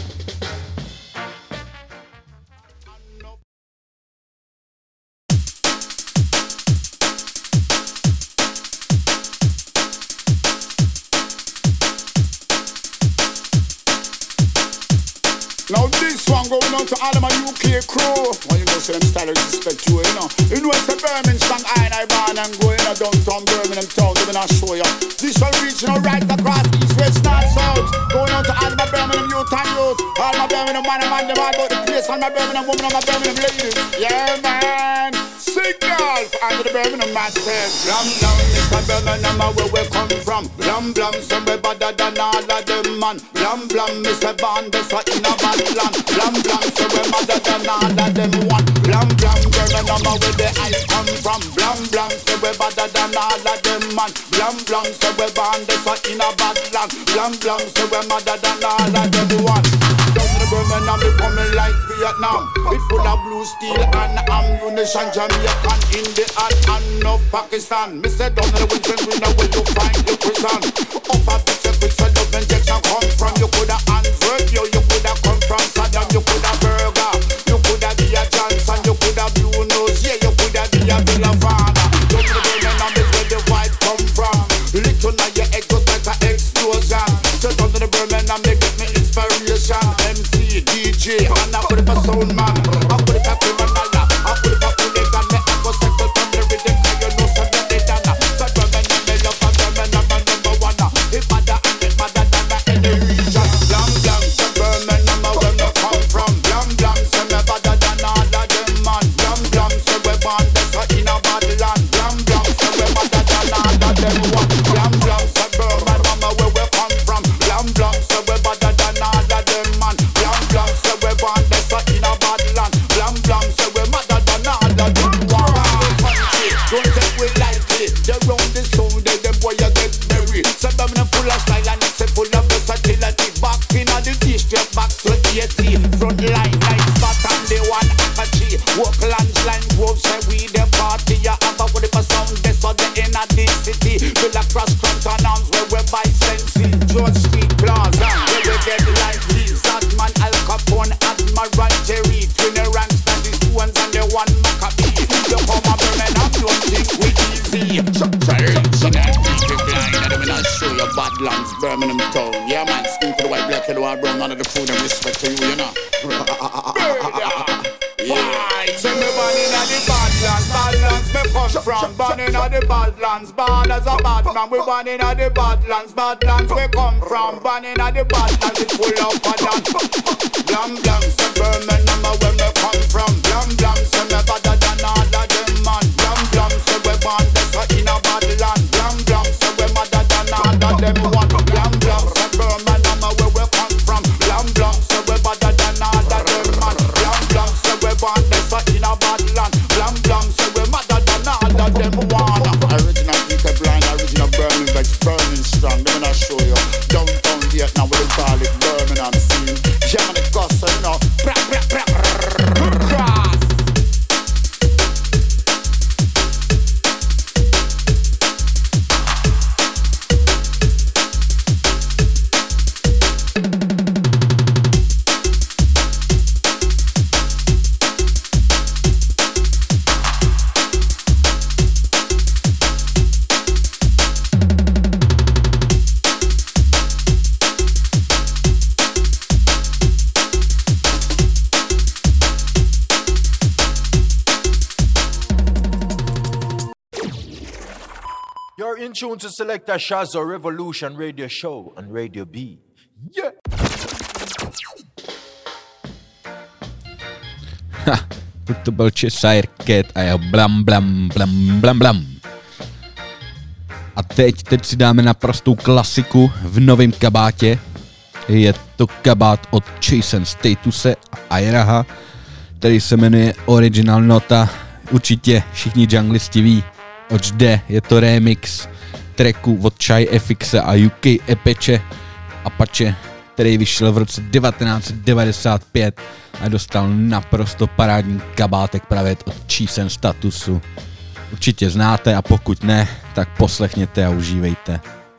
Now this one going out to all of my U K crew. Well, you know, so them style respect you, you know. You know, it's a Birmingham, I and I born and go in a downtown Birmingham town. They're gonna show you. This one regional right across east, west, north, south. Going out to all of my Birmingham youth and youth. All my Birmingham man and man, them all about the place. All my Birmingham woman and my Birmingham ladies. Yeah, man. Signal under the Birmingham man says. Blam, blam, Mister Birmingham, where we come from. Blam, blam, so we better than all of them, man. Blam, blam, Mister Bond, that's what in a bad land. Blam, blam, so we better than all of them, one. Blam, blam, Birmingham, where the I come from. Blam, blam, so we better than all of them, man. Blam, blam, so we Bond, that's what in a bad land. Blam, blam, so we better than all of them, one. Down to the Birmingham, we coming like Vietnam. It full of blue steel and ammunition. Jamaican in the heart and no Pakistan. Me say down to the winter, we know where you find the prison. Up a picture, picture, love injection come from. You coulda Antwerp, yo, you coulda come from Saddam. You coulda Burger, you coulda be a Johnson. You coulda Blue Nose, yeah, you coulda be a Villavana. Down to the Birmingham is where the white come from. Little now your egg goes like an explosion. So down to the Birmingham, they get me inspiration. M C, D J, and I put it for sound man. I put it for criminal, I put it for hooligan. Me I go settle from the rhythm, cause you know some of the dana. So Birmingham, me love for Birmingham, I'm number one. If mother and it mother than the any region. Blam blam, so Birmingham, where me come from. Blam blam, so me better than all of them man. Blam blam, so we born this in a bad land. Blam blam, so we better than all of them one. Blam blam, so Birmingham, where we come from. Blam blam, so we better than all of them man. Blam blam, so we born this in a bad land. Blam blam, so we better than all of them one. Don't take we lightly. They round the sound, they them boy you get buried. So Birmingham full of style and it's full of versatility. Back in the district, back to eighty. Front line, nice spot and the one Akachi. Walk lands, line grove, say we the party. You have a what if a sound, this or the inner the city. Fill across Crumpton Arms where we buy Sensi. George Street Plaza, where we get lively. Sadman, Al Capone, Admiral Jerry. Twin ranks, and the two ones and the one Maccabee. You come a Birmingham, don't think we easy. So that people blind, and I'm not show you Badlands, Birmingham town. Yeah man, skin to the white, black, yellow, and brown. None of the food and respect to you, you know. Yeah. So me born in the bad Badlands, Badlands, me come from. Born in the Badlands, born as a bad man. We born in the Badlands, Badlands, we come from. Born in the Badlands, it's full of badlands. Blam blam, say Birmingham, where me come from. Blam blam, say me better than all of them man. Blam blam, say we born this in a badland. Blam blam, say we madder than all of them one. Blam blam, say Birmingham, where we come from. Blam blam, say we better than all of them man. Blam blam, say we born this in a badland. Blam blam, say we madder than all of them one. Original Peter Blind, original Burning Veg, burning strong. Let me not show you. Downtown Vietnam, we call it Birmingham scene. Germany gossip, you know. Bra, bra, bra, cross. You're in tune to Selector Shazzo Revolution Radio Show on Radio B. Yeah! Ha, to byl Cheshire Cat a jeho blam blam blam blam blam. A teď, teď si dáme naprostou klasiku v novém kabátě. Je to kabát od Jason Statuse a Iraha, který se jmenuje Original Nota. Určitě všichni junglisti ví, oč jde. Je to remix tracku od Chai F X a U K Apache, Apache, který vyšel v roce devatenáct set devadesát pět a dostal naprosto parádní kabátek právě od Jason Statusu. Určitě znáte a pokud ne, tak poslechněte a užívejte.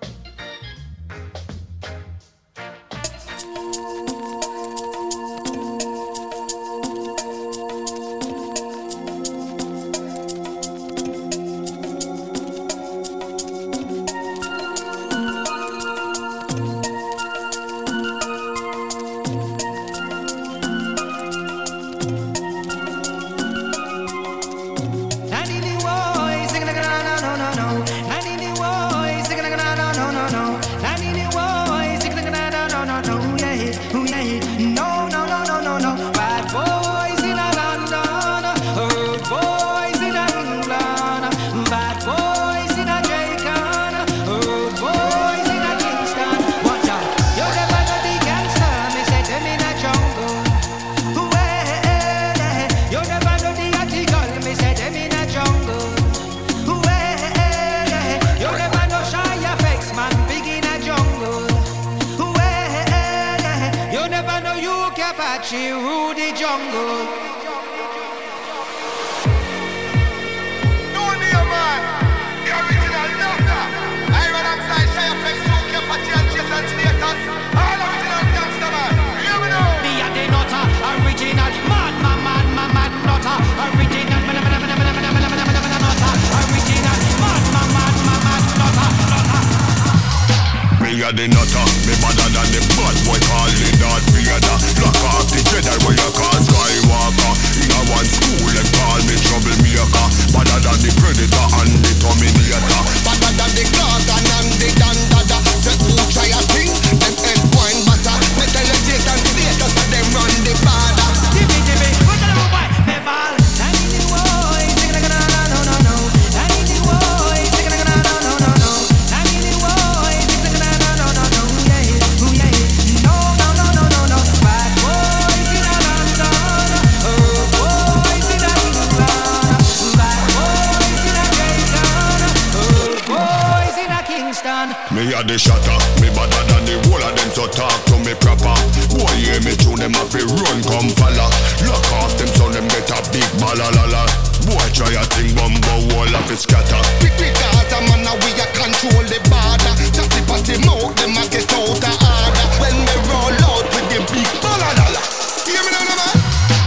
The nutter, me better than the bad boy calling that Vader. Lock off the Jedi where you call Skywalker. In a one school them call me troublemaker. Better than the Predator and the Terminator. Better than the Gorgon and the Dandada. Say who try a thing, them head wine butter. Me tell the Jason status and them run the border. Jimmy, Jimmy, put the little boy, me ball. I need the boy, sing like no, no, no, no, no. I need the boy, sing like no, no, no, no, no. I need the boy, sing like no, no, no, no, no. Yeah, ooh, yeah, no, no, no, no, no, no. Bad boys in a London, oh boys in a England, bad boys in a Jamaican, oh boys in a Kingston. Me a the shatter, me better than the whole of them, so talk to me proper. Boy, hear me tune them up, run, come follow. Lock off them, so them get a big balalala. Boy, try a thing, bumbo, wall of it scatter. Quick, quick, as a man, we a control the border. Chatty patty mouth, them a get out of order. When we roll out with them big balalala. Hear me now, man?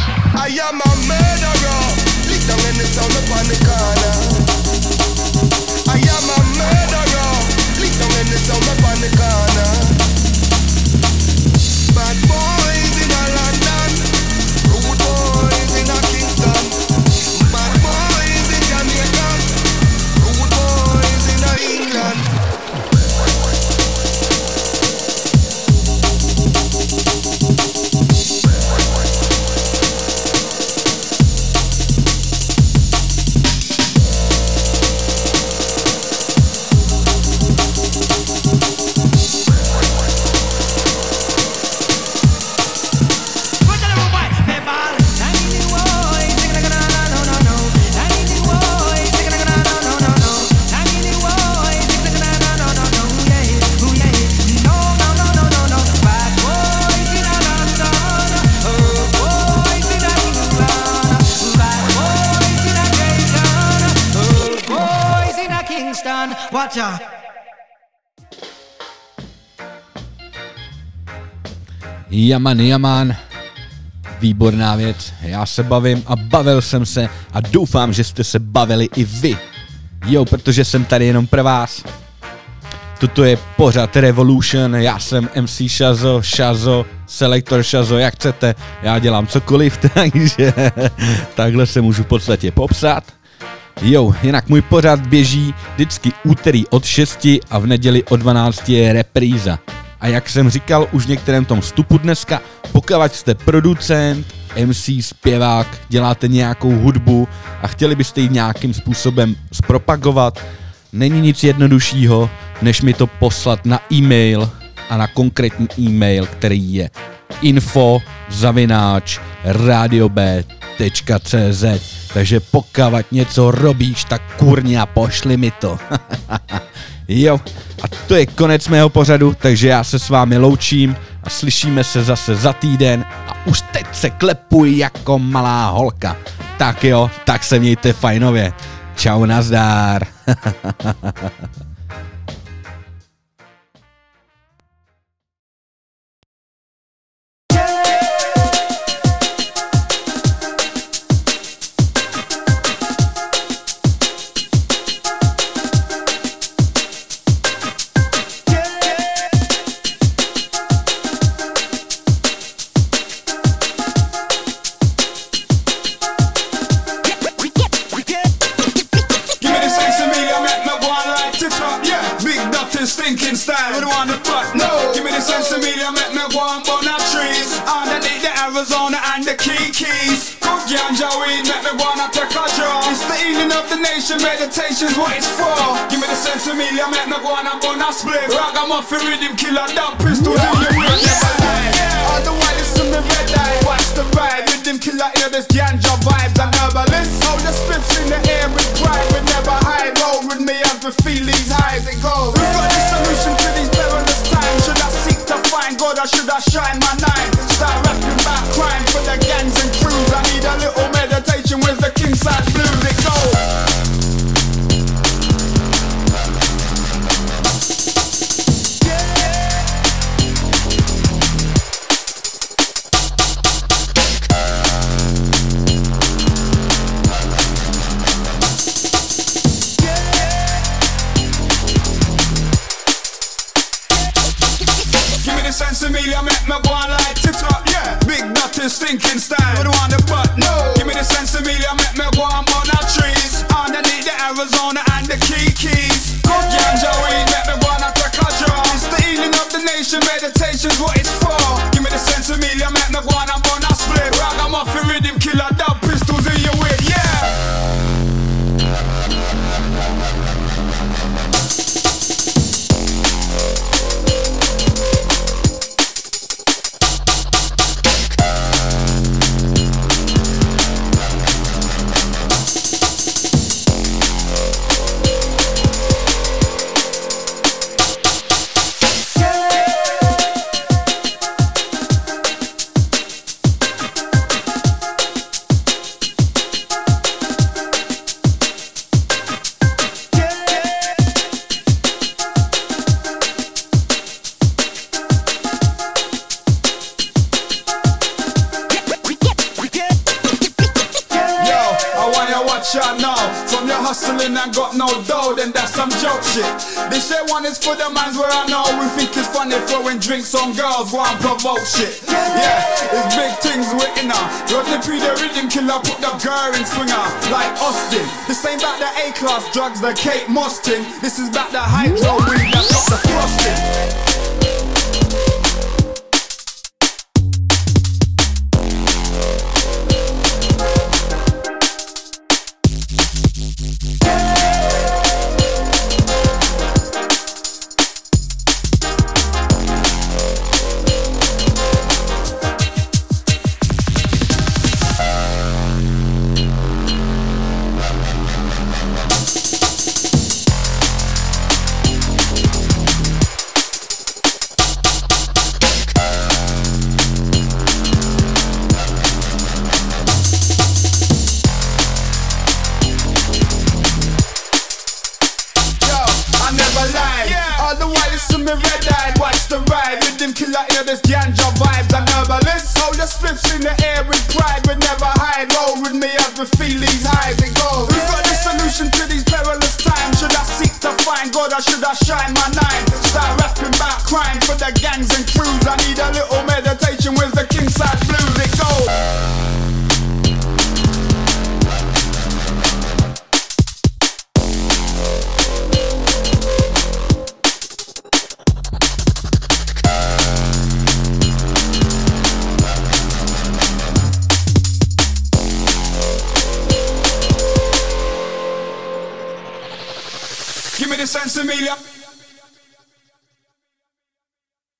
I am a murderer. Lick down in the sound upon the corner. I am a murderer. Lick down in the sound upon the corner. Bad boys in a London, Watcha. Jaman, jaman. Výborná věc. Já se bavím a bavil jsem se a doufám, že jste se bavili i vy. Jo, protože jsem tady jenom pro vás. Toto je pořad Revolution, já jsem M C Shazo, Shazo, Selector Shazo, jak chcete, já dělám cokoliv, takže takhle se můžu v podstatě popsat. Jo, jinak můj pořad běží vždycky úterý od šesti a v neděli od dvanácti je repríza. A jak jsem říkal už v některém tom vstupu dneska, pokud jste producent, M C, zpěvák, děláte nějakou hudbu a chtěli byste ji nějakým způsobem zpropagovat, není nic jednoduššího, než mi to poslat na e-mail a na konkrétní e-mail, který je info zavináč radiob tečka cz. Takže pokud něco robíš, tak kurňa, pošli mi to. Jo, a to je konec mého pořadu, takže já se s vámi loučím a slyšíme se zase za týden a už teď se klepuji jako malá holka. Tak jo, tak se mějte fajnově. Čau, nazdár. Stinking style, we don't want the butt, no. Give me the sense of media, make me go and burn our trees. Underneath the Arizona and the Key Keys. Good ganja weed, make me go and take a draw. It's the healing of the nation, meditation's what it's for. Give me the sense of media, make me go and burn a split. Ragamuffin rhythm killer, dumb pistols in your way, never lie. All the while it's to me red eye, watch the ride. Rhythm killer, hear this ganja vibes and herbalist. Hold the spliffs in the air with pride, we never hide. Roll with me as we feel these highs, it goes. Solution to these perilous times. Should I seek to find God or should I shine my nine? Start rapping about crime for the gangs and crews. I need a little meditation with the king side blues. It goes. Sense of media make me go and light it up, yeah. Big dirty stinking style, we don't want the butt, no. Give me the sense of media make me go and burn our trees. Underneath the Arizona and the Key Keys. Good ganja weed make me go and take a draw. It's the healing of the nation, meditation's what it's for. Give me the sense of media make me go and burn a split. Ragamuffin rhythm killer, dub pistols in your way, yeah. Hustling and got no dough, then that's some joke shit. They say one is for the mans where I know we think it's funny throwing drinks on girls, go and provoke shit. Yeah, it's big things we're in her. Rodney P the rhythm killer, put the girl in swinger like Austin. This ain't about the A-class drugs, the Kate Moss thing. This is about the hydro weed that's got the frosting. me red-eyed, watch the ride. Rhythm killer, hear this ganja vibes and herbalist. Hold your spliffs in the air with pride, we never hide. Roll with me as we feel these highs and goes. We've got the solution to these perilous times. Should I seek to find God or should I shine my nine? Start rapping about crime for the gangs and crews. I need a little meditation with the king side blues. It goes. Give me the sense, Amelia.